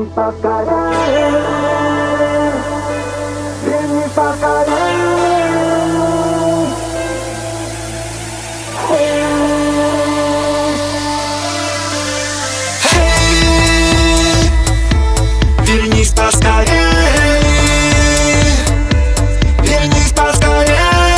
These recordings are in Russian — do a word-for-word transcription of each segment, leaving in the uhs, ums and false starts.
поскорее, вернись поскорее. Вернись поскорее, вернись поскорее.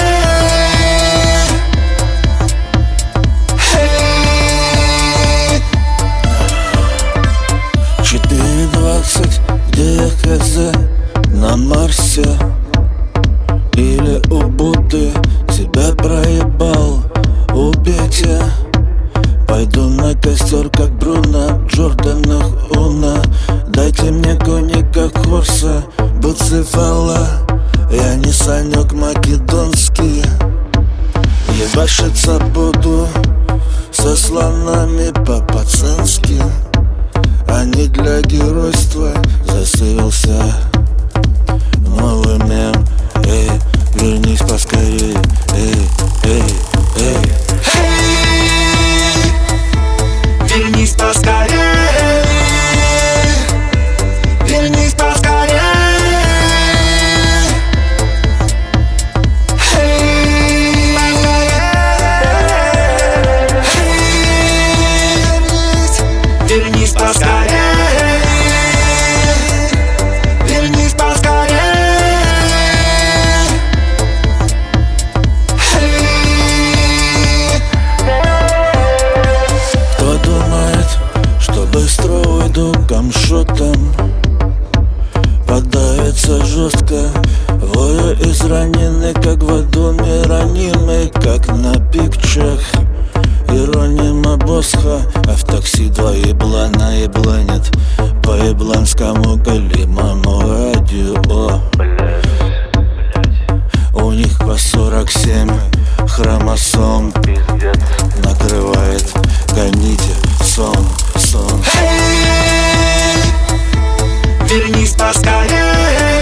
Четыре двадцать, где я хз, на Марсе или у Будды. Тебя проебал, убейте. Пойду на костер, как Бруно, Джорданах Уна. Дайте мне коньяка Хорса, Буцефала. Я не Санек македонский. Ебашиться буду со слонами по-пацански, а не для геройства. Засывился новый мем. Эй, вернись поскорее. Эй, эй, эй. Вернись поскорее, вернись поскорее. Вернись поскорее, вернись поскорее. Кто думает, что быстро уйду камшотом, подавится жестко. Вою израненный, как в доме ранимый, как на пикчах. Иронима Босха, а в такси два еблана ебланят по ебланскому голимому радио. У них по сорок семь хромосом. Накрывает, гоните сон, сон. Вернись поскорее,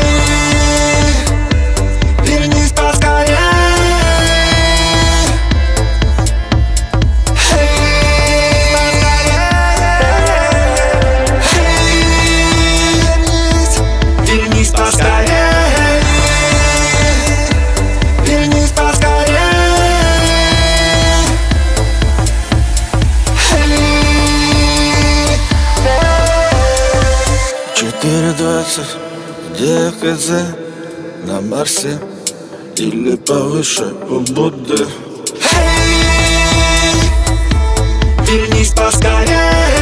вернись поскорее. Вернись поскорее, вернись поскорее. Четыре двадцать, где я хз, на Марсе или повыше у Будды. Вернись поскорее,